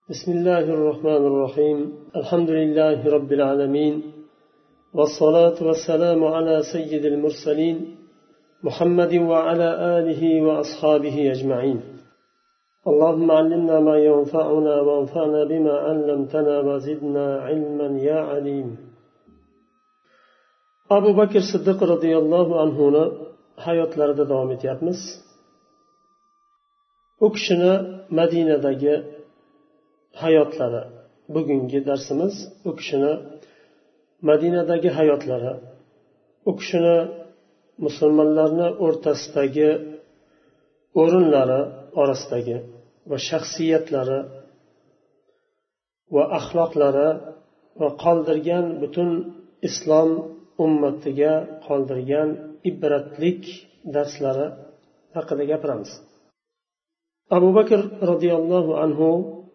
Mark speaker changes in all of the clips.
Speaker 1: بسم الله الرحمن الرحيم الحمد لله رب العالمين والصلاة والسلام على سيد المرسلين محمد وعلى آله وأصحابه أجمعين اللهم علمنا ما ينفعنا وانفعنا بما علمتنا وزدنا علما يا عليم أبو بكر الصديق رضي الله عنه hayotlarida davom etyapmiz. U kishini Madinadagi hayotlari bugungi darsimiz. U kishini Madinadagi hayotlari, u kishini musulmonlarni o'rtasidagi o'rinlari orasidagi va shaxsiyatlari va axloqlari va qoldirgan butun islom ummatiga qoldirgan ibratlik darslari haqida gapiramiz. Abu Bakr radhiyallohu anhu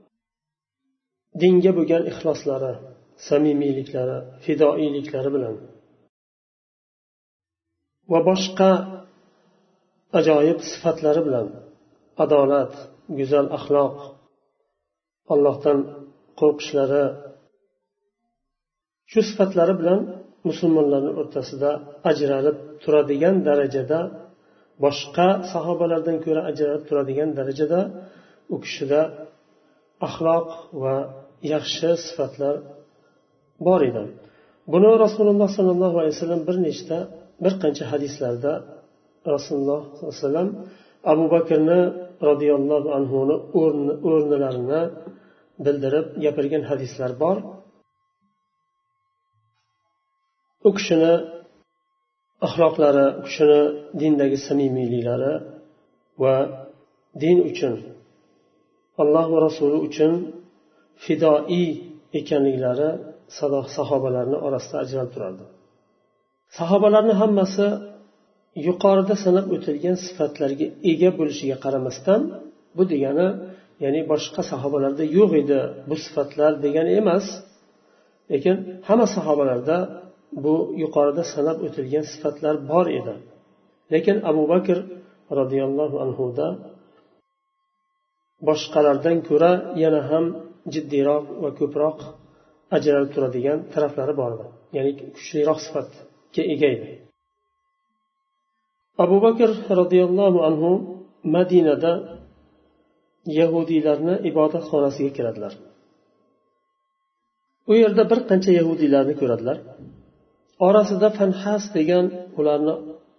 Speaker 1: dinga bo'lgan ixloslari, samimiyliklari, fidoiyliklari bilan va boshqa ajoyib sifatlari bilan, adolat, go'zal axloq, Allohdan qo'rqishlari, shu sifatlari bilan musulmonlarning o'rtasida ajralib turadigan darajada, boshqa sahobalardan ko'ra ajralib turadigan darajada u kishida axloq va yaxshi sifatlar bor edi. Buni Rasululloh sollallohu alayhi vasallam bir qancha hadislarda Rasululloh sollallohu alayhi vasallam Abu Bakrni radhiyallohu anhuni o'rnilarini bildirib gapirgan hadislar bor. U kishini axloqlari, u kishini dindagi samimiyliklari va din uchun, Alloh va Rasuli uchun fidoi ekanliklari sahobalarning orasida ajralib turardi. Sahobalarning hammasi yuqorida sanab o'tilgan sifatlarga ega bo'lishiga qaramasdan, bu degani ya'ni boshqa sahobalarda yo'q edi bu sifatlar degani emas, lekin hamma sahobalarda bu yuqorida sanab o'tilgan sifatlar bor edi. Lekin Abu Bakr radhiyallohu anhuda boshqalardan ko'ra yana ham jiddiyroq va ko'proq ajralib turadigan taraflari bor edi. Ya'ni kuchliroq sifatga ega edi. Abu Bakr radhiyallohu anhu Madinada yahudiylarni ibodatxonasiga kiradilar. U yerda bir qancha yahudiylarni ko'radilar. Orasida Fanhas degan ularni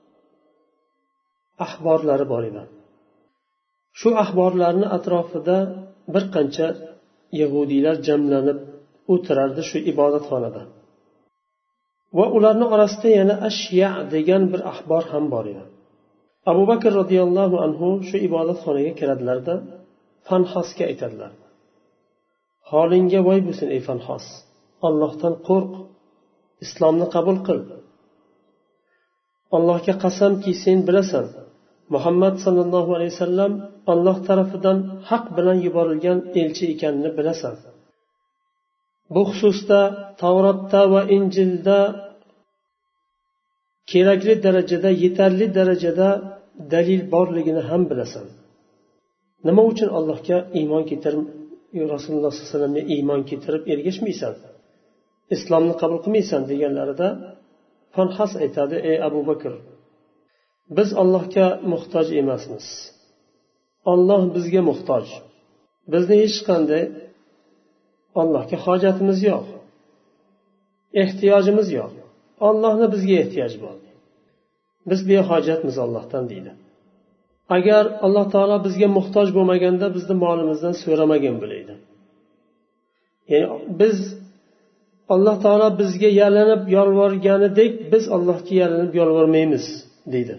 Speaker 1: ahborlari bor edi. Shu ahborlarning atrofida bir qancha yahudiylar jamlanib o'tirardi shu ibodatxonada. Va ularning orasida yana Ashya degan bir ahbor ham bor edi. Abu Bakr radhiyallohu anhu shu ibodatxonaga kiradilarda Fanhasga aytadilar: "Holingga voy bo'lsin ey Fanhas, Allohdan qo'rq, islomni qabul qil. Allohga qasamki, sen bilasan, Muhammad sallallohu alayhi vasallam Alloh tarafidan haq bilan yuborilgan elchi ekanini bilasan. Bu xususda Tavrotda va Injilda kerakli darajada, yetarli darajada dalil borligini ham bilasan. Nima uchun Allohga iymon keltirib, Rasululloh sollallohu alayhi vasallamga iymon keltirib ergashmaysan? Islomni qabul qilmaysan?" deganlarida Fanhas aytadi: "Ey Abu Bakr, biz Allohga muhtoj emasmiz. Alloh bizga muhtoj. Bizni hech qanday Allohga hojatimiz yo'q. Ehtiyojimiz yo'q. Allohning bizga ehtiyoji bor. Biz behojatmiz Allohdan" deydi. Agar Alloh taolo bizga muhtoj bo'lmaganda bizni molimizdan so'ramagan bo'laydi. Ya'ni biz Alloh taolo bizga yalinib yolvorganidek biz Allohga yalinib yolvormaymiz deydi.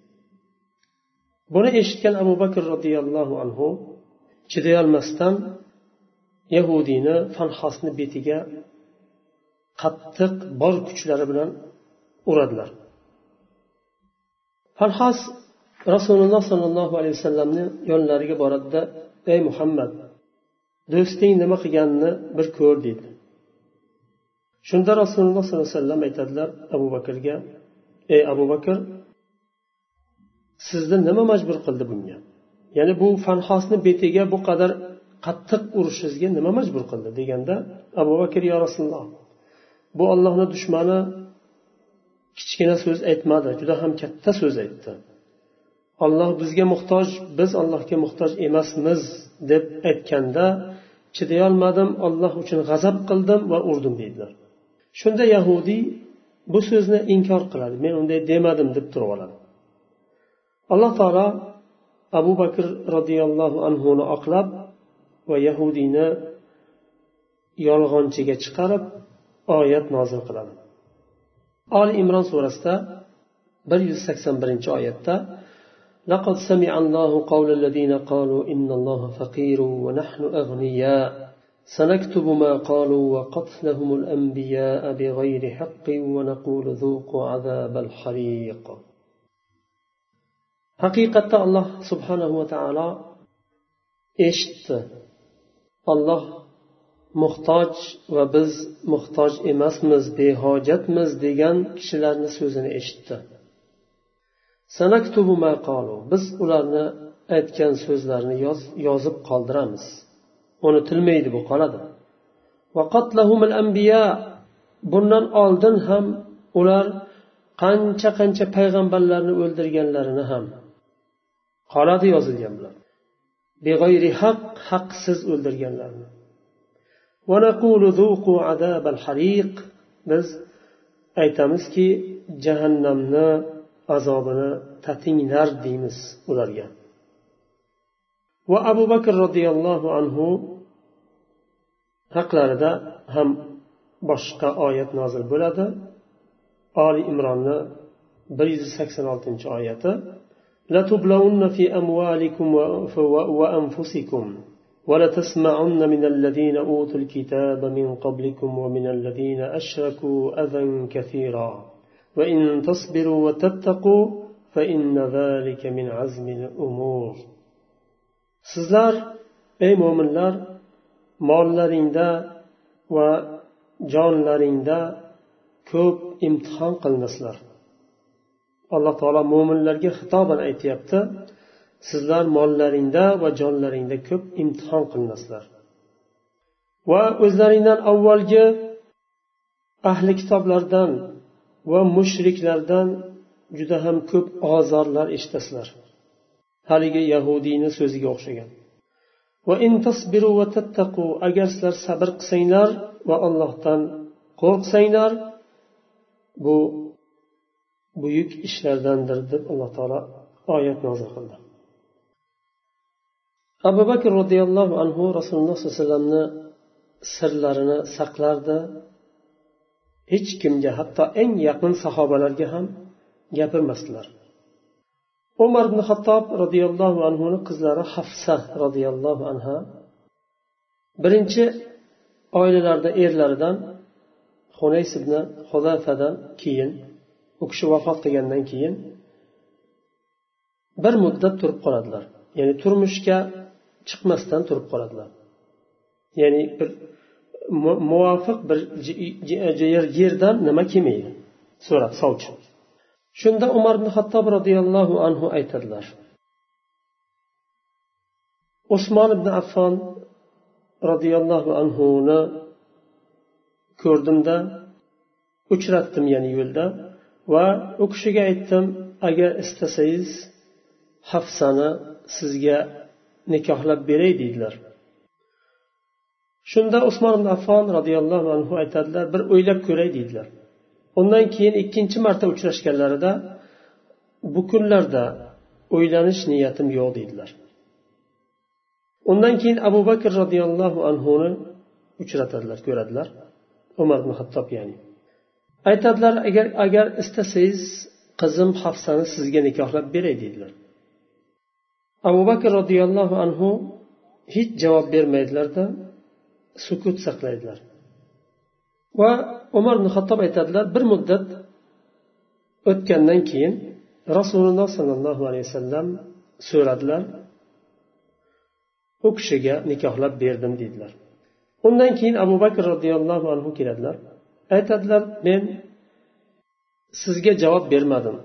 Speaker 1: Buni eshitgan Abu Bakr radhiyallohu anhu chiday olmasdan yahudiyni Fanhasni betiga qattiq bor kuchlari bilan uradilar. Fanhas Rasululloh sollallohu alayhi vasallamning yonlariga boradida: "Ey Muhammad, do'sting nima qilganini bir ko'r" deydi. Shunda Rasululloh sollallohu alayhi vasallam aytadilar Abu Bakrga: "Ey Abu Bakr, sizni nima majbur qildi bunga? Ya'ni bu Fanhosni betiga bu qadar qattiq urishingizga nima majbur qildi deganda, Abu Bakr yo Rasululloh, bu Allohning dushmani kichkina so'z aytmadi, juda ham katta so'z aytdi. Alloh bizga muhtoj, biz Allohga muhtoj emasmiz deb aytganda chiday olmadim, Alloh uchun g'azab qildim va urdim deydilar. Shunda Yahudiy bu so'zni inkor qiladi, men unday demadim deb turib oladi. Alloh taolo Abu Bakr radhiyallohu anhuni oqlab va Yahudiyni yolg'onchiga chiqarib oyat nozil qiladi. Ali Imron surasida 181-oyatda لقد سمع الله قول الذين قالوا إن الله فقير ونحن أغنياء سنكتب ما قالوا وقتلهم الأنبياء بغير حق ونقول ذوقوا عذاب الحريق. حقيقة الله سبحانه وتعالى eshitdi. Alloh muhtoj va biz muhtoj emasmiz, behojatmiz degan kishilarning so'zini eshitdi. Sanaktubu ma qalu, biz ularni aytgan so'zlarini yozib qoldiramiz. Unutilmaydi, bu qoladi. Va qatlahumul anbiya, bundan oldin ham ular qancha payg'ambarlarni o'ldirganlarini ham qoladi, yozilgan bilan. Beg'ayri haq, haqsiz o'ldirganlarni. Va naqulu zuqu azabal hariq, biz aytamizki jahannamni azobini tatinglar deymiz ularga. Va Abu Bakr radhiyallohu anhu haqlarida ham boshqa oyat nozil bo'ladi. Ali Imronni 186-oyati: La tublawunna fi amwalikum wa anfusikum wa la tasma'unna min alladhina utul kitaba min qablikum wa min alladhina ashraku adhan kathira wa in tasbiru wa tattaqu fa inna dhalika min azmi al-umur. Sizlar ey mu'minlar, mollaringda va jonlaringda ko'p imtihon qilinasizlar. Alloh taolo mu'minlarga xitoban aytayapti, sizlar mollaringda va jonlaringda ko'p imtihon qilinasizlar. Va o'zlaringdan avvalgi ahli kitoblardan va mushriklardan juda ham ko'p ozorlar eshitasizlar. Haligi Yahudiyning so'ziga o'xshagan. Va in tasbiru va tattaqu, agar sizlar sabr qilsanglar va Allohdan qo'rqsanglar, bu buyuk ishlardandir deb Alloh taolo oyat nozil qildi. Abu Bakr radhiyallohu anhu Rasululloh sollallohu alayhi vasallamni sirlarini saqlardi. Hech kimga, hatto eng yaqin sahobalarga ham gapirmasdilar. Umar ibn Xattob radhiyallohu anhuning qizlari Hafsa radhiyallohu anha birinchi oilalarda erlaridan Hunays ibn Huzafadan keyin, u kishi vafot qilgandan keyin bir muddat turib qoladilar. Ya'ni turmushga chiqmasdan turib qoladilar. Ya'ni bir muvofiq bir yerdan nima kelmaydi so'rab sovchi. Shunda Umar ibn Xattob radhiyallohu anhu aytadilar: Usmon ibn Affon radhiyallohu anhuni ko'rdimda, uchratdim ya'ni yo'lda, va u kishiga aytdim, agar istasangiz Hafsani sizga nikohlab beray dedilar. Shunda Usmon ibn Affon radhiyallohu anhu aytadilar, bir o'ylab ko'ray dedilar. Undan keyin ikkinchi marta uchrashganlarida bu kunlarda o'ylanish niyatim yo'q dedilar. Undan keyin Abu Bakr radhiyallohu anhuni uchratadilar, ko'radilar. Umar ibn Xattob ya'ni. Aytadilar, agar istasangiz qizim Hafsani sizga nikohlab beray dedilar. Abu Bakr radhiyallohu anhu hech javob bermaydilarda, sukut saqlaydilar. Va Umar ibn Xattob aytadilar, bir muddat o'tgandan keyin Rasululloh sollallohu alayhi vasallam so'radilar, u kishiga nikohlab berdim dedilar. Undan keyin Abu Bakr radhiyallohu anhu keladilar, aytadilar, men sizga javob bermadim.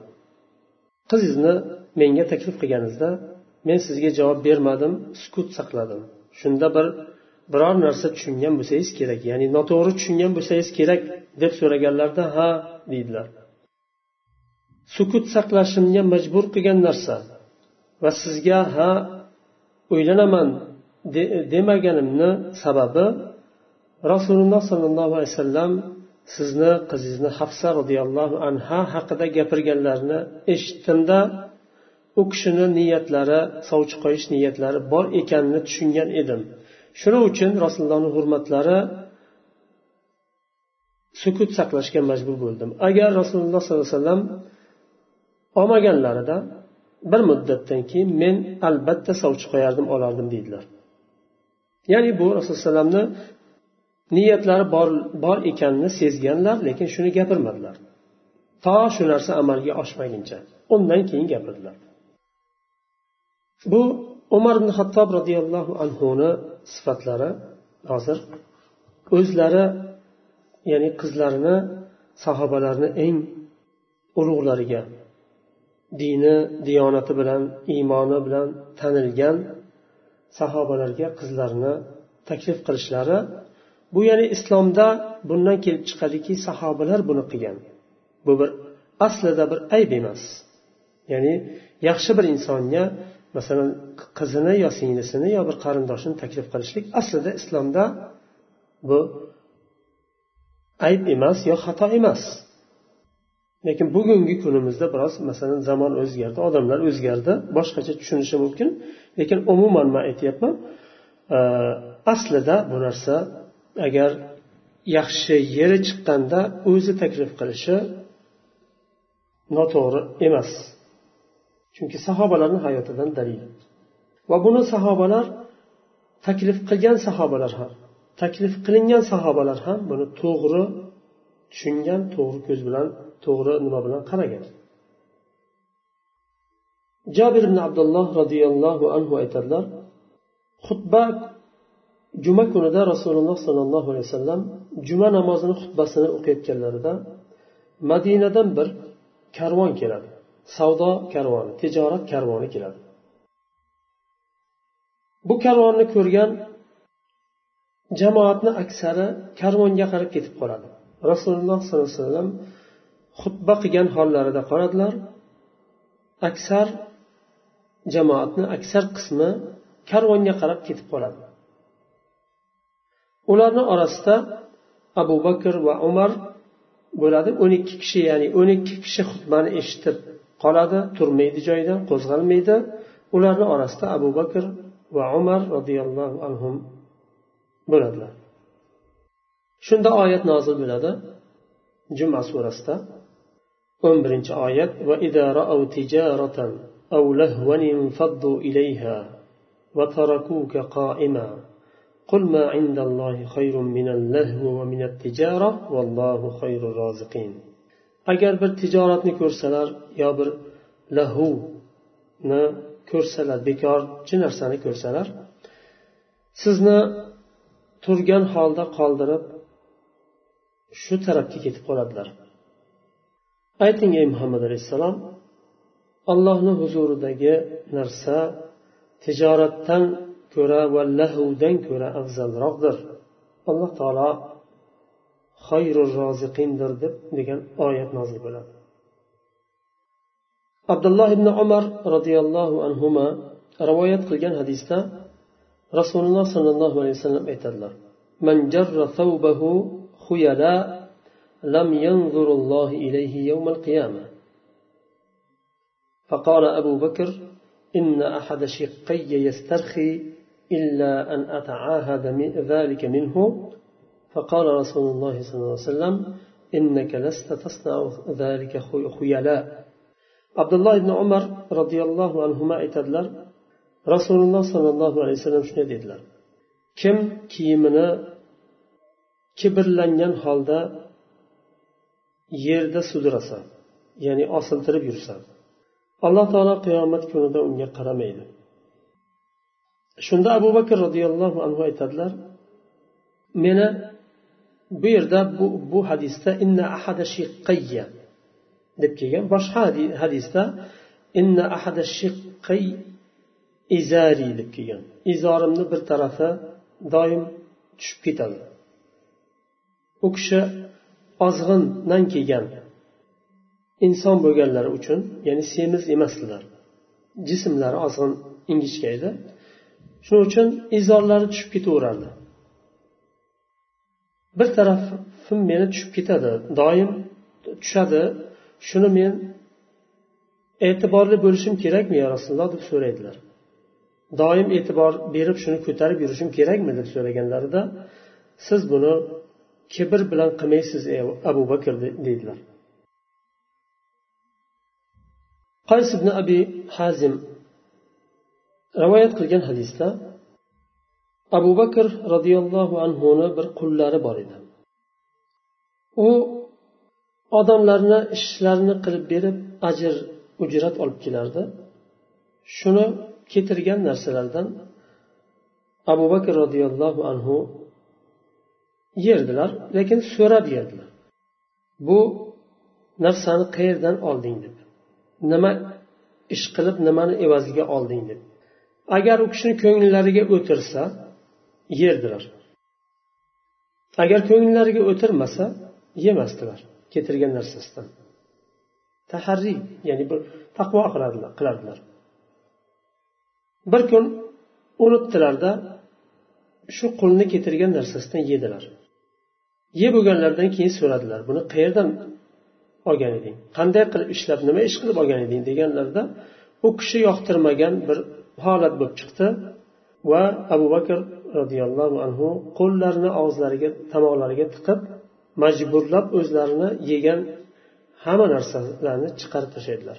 Speaker 1: Qizingizni menga taklif qilganingizda men sizga javob bermadim, sukut saqladim. shunda biror narsa tushungan bo'lsangiz kerak, ya'ni noto'g'ri tushungan bo'lsangiz kerak deb so'raganlarida ha deydilar. Sukut saqlashimga majbur qilgan narsa va sizga ha o'ylanaman demaganimni sababi Rasululloh sollallohu alayhi vasallam sizni qizingizni Hafsa roziyallohu anha haqida gapirganlarini eshitdimda u kishini niyatlari, sovchi qo'yish niyatlari bor ekanini tushungan edim. Shuning uchun Rasulullohning hurmatlari sukut saqlashga majbur bo'ldim. Agar Rasululloh sollallohu alayhi vasallam olmaganlarida bir muddatdan keyin men albatta sovchi qo'yardim, olardim deydilar. Ya'ni bu Rasululloh sollallohu alayhi vasallamni niyatlari bor ekanini sezganlar, lekin shuni gapirmadilar. To shu narsa amalga oshmaguncha. Undan keyin gapirdilar. Bu Umar ibn Xattob radhiyallohu anhuni sifatlari. Hozir o'zlari, ya'ni qizlarini sahobalarni eng ulug'lariga, dini, diyonati bilan, iymoni bilan tanilgan sahobalarga qizlarini taklif qilishlari, bu ya'ni islomda bundan kelib chiqadiki, sahobalar buni qilgan. Bu bir aslida bir ayb emas. Ya'ni yaxshi bir insonga masalan qizini yo singlisini yo bir qarindoshini taklif qilishlik aslida islomda bu ayb emas yo xato emas. Lekin bugungi kunimizda biroz masalan zamon o'zgardi, odamlar o'zgardi, boshqacha tushunishi mumkin. Lekin umuman men aytyapman, aslida bu narsa agar yaxshi yeri chiqqanda o'zi taklif qilishi noto'g'ri emas. Chunki sahobalarning hayotidan dalil. Va buni sahobalar taklif qilgan sahobalar ham, taklif qilingan sahobalar ham buni to'g'ri tushungan, to'g'ri ko'z bilan, to'g'ri nima bilan qaragan. Jabir ibn Abdulloh radhiyallohu anhu aytadilar, xutba juma kunida Rasululloh sollallohu alayhi vasallam juma namozini xutbasini o'qiyotganlarida Madinadan bir karvon keladi. Savdo karvoni, tijorat karvoni keladi. Bu karvonni ko'rgan jamoatni aksari karvonga qarab ketib qoladi. Rasululloh sollallohu alayhi vasallam xutba qilgan hollarida qaradilar. Aksar jamoatni aksar qismi karvonga qarab ketib qoladi. Ularning orasida Abu Bakr va Umar bo'ladi. 12 kishi, ya'ni 12 kishi xutbani eshitib qoladi, turmaydi joyidan, qo'zg'almaydi. Ularning orasida Abu Bakr va Umar radhiyallohu anhum bo'ladilar. Shunda oyat nozil bo'ladi. Juma surasida 11-oyat: "Va idza ra'aw tijaratan aw lahwan infaddu ilayha va tarakuka qa'ima qul ma 'indallahi khayrun minal lahwi va minat tijara vallohu khayrur roziqin." Agar bir tijoratni ko'rsalar yo bir lahuni ko'rsalar, bekorchi narsani ko'rsalar, sizni turgan holda qoldirib shu tarafga ketib qoladilar. Ayting ey Muhammad alayhissalom, Allohning huzuridagi narsa tijoratdan ko'ra va lahvdan ko'ra afzalroqdir. Alloh taolo xayrur roziqindir degan oyat nozil bo'ladi. Abdulloh ibn Umar radhiyallohu anhuma rivoyat qilgan hadisda Rasululloh sollallohu alayhi vasallam aytadilar: "Man jarra thawbahu khuyala lam yanzurullohu ilayhi yawmal qiyamah." فقال أبو بكر: إن أحد شقي يسترخي إلا أن أتعاهد ذلك منه. فقال رسول الله صلى الله عليه وسلم: إنك لست تصنع ذلك خيلاء. عبد الله بن عمر رضي الله عنهما aytadilar, Rasululloh sollallohu alayhi vasallam shunday dedilar: kim kiyimini kibrlangan holda yerda sudrasa, ya'ni osiltirib yursa, Alloh taolo qiyomat kunida unga qaramaydi. Shunda Abu Bakr radhiyallohu anhu aytadilar, meni bu yerda bu hadisda inna ahada shiqqayya deb kelgan, boshqa hadisda inna ahada shiqqay izari deb kelgan. Izorimni bir tarafi doim tushib ketadi. U kishi ozg'indan kelgan inson bo'lganlari uchun, ya'ni semiz emasdilar. Jismlari ozg'in, ingichka edi. Shuning uchun izorlari tushib ketaverardi. Bir tarafim meni tushib ketadi, doim tushadi. Shuni men e'tiborli bo'lishim kerakmi ya Rasululloh deb so'raydilar. Doim e'tibor berib shuni ko'tarib yurishim kerakmi deb so'raganlarida, siz buni kibr bilan qilmaysiz ey Abu Bakr dedilar. Qays ibn Abi Hazim rivoyat qilgan hadisda Abu Bakr radhiyallohu anhuni bir qullari bor edi. U odamlarni ishlarini qilib berib ajr ujrat olib kelardi. Shuni ketirgan narsalardan Abu Bakr radhiyallohu anhu yerdilar, lekin so'rab yerdilar. Bu narsani qayerdan olding deb. Nima ish qilib nimani evaziga olding deb. Agar u kishini ko'ngillariga o'tirsa yerdilar. Agar ko'ngillariga o'tirmasa yemasdilar ketirgan narsasidan. Taharri, ya'ni bir taqvo qilardilar. Bir kun unutdilarda shu qulni ketirgan narsasidan yedilar. Yeb bo'lganlardan keyin so'radilar, buni qayerdan olgan eding? Qanday qilib ishlab, nima ish qilib olgan eding deganlarida u kishi yoqtirmagan bir holat bo'lib chiqdi va Abu Bakr radhiyallohu anhu qo'llarini og'izlariga, tomoqlariga tiqib majburlab o'zlarini yegan hamma narsalarni chiqarib tashlaydilar.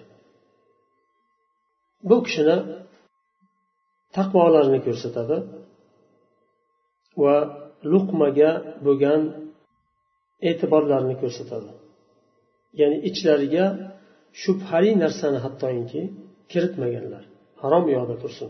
Speaker 1: Bu kishini taqvolarini ko'rsatadi va luqmaga bo'lgan e'tiborlarini ko'rsatadi. Ya'ni ichlariga shubhali narsani hattoki kiritmaganlar. Harom yo'qda tursin.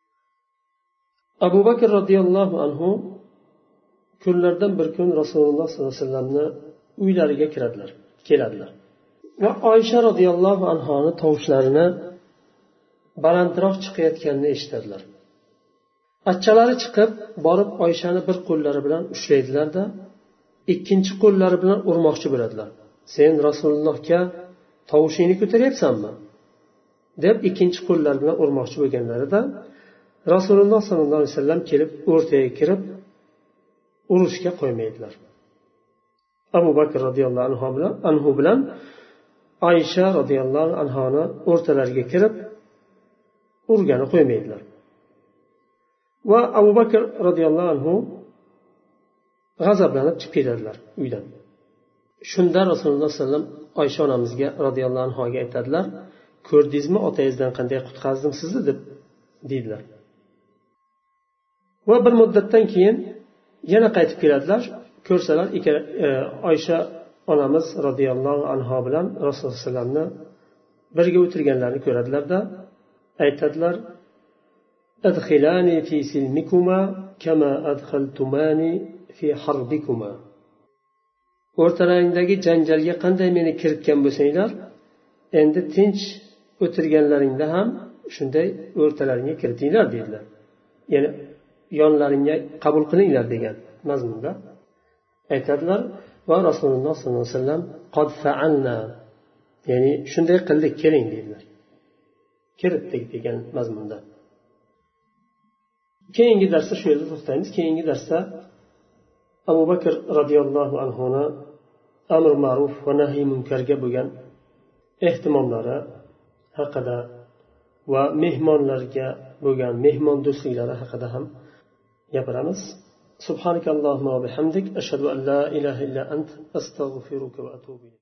Speaker 1: Abu Bakr radhiyallohu anhu kunlardan bir kun Rasululloh sollallohu alayhi vasallamni uylariga keladilar. Va Oysha radhiyallohu anhoni tovushlarini balandroq chiqayotganini eshitadilar. Achchalari chiqib, borib Oyshani bir qo'llari bilan ushlaydilar-da, ikkinchi qo'llari bilan urmoqchi bo'ladilar. Sen Rasulullohga tovushingni ko'taryapsanmi? deb ikkinchi qo'llari bilan urmoqchi bo'lganlarida Rasululloh sollallohu alayhi vasallam kelib o'rtaga kirib urushga qo'ymaydilar. Abu Bakr radhiyallohu anhu bilan Oysha radhiyallohu anhoni o'rtalariga kirib urgani qo'ymaydilar. Va Abu Bakr radhiyallohu anhu g'azablanib chiqib ketadilar uydan. Shunda Rasululloh sollallohu alayhi vasallam Oysha onamizga radhiyallohu anhoga aytadilar, ko'rdingizmi otangizdan qanday qutqazdim sizni deb deydilar. Va bir muddatdan keyin yana qaytib keladilar. Ko'rsalar Oysha onamiz radhiyallohu anha bilan Rasululloh sollallohu alayhi vasallamni birga o'tirganlarini ko'radilar-da, aytadilar: "Adkhilani fi silmikuma kama adkhaltumani fi harbikuma." O'rtalaringdagi janjalga qanday meni kiritgan bo'lsanglar, endi tinch o'tirganlaringda ham shunday o'rtalaringga kiritinglar dedilar. Ya'ni yonlaringga qabul qilinglar degan mazmunda aytadilar va Rasululloh sollallohu alayhi vasallam qad fa'alna, ya'ni shunday qildik, keling dedilar. Kiritdik degan mazmunda. Keyingi darsda shu yerda to'xtaymiz. Keyingi darsda Abu Bakr radhiyallohu anhuni amr ma'ruf va nahiy munkarga bo'lgan ehtimomlari haqida va mehmonlarga bo'lgan mehmon do'stliklari haqida ham gapiramiz. Subhanakallohumma va bihamdik ashhadu an la ilaha illa ant astaghfiruka va atubu ilayk.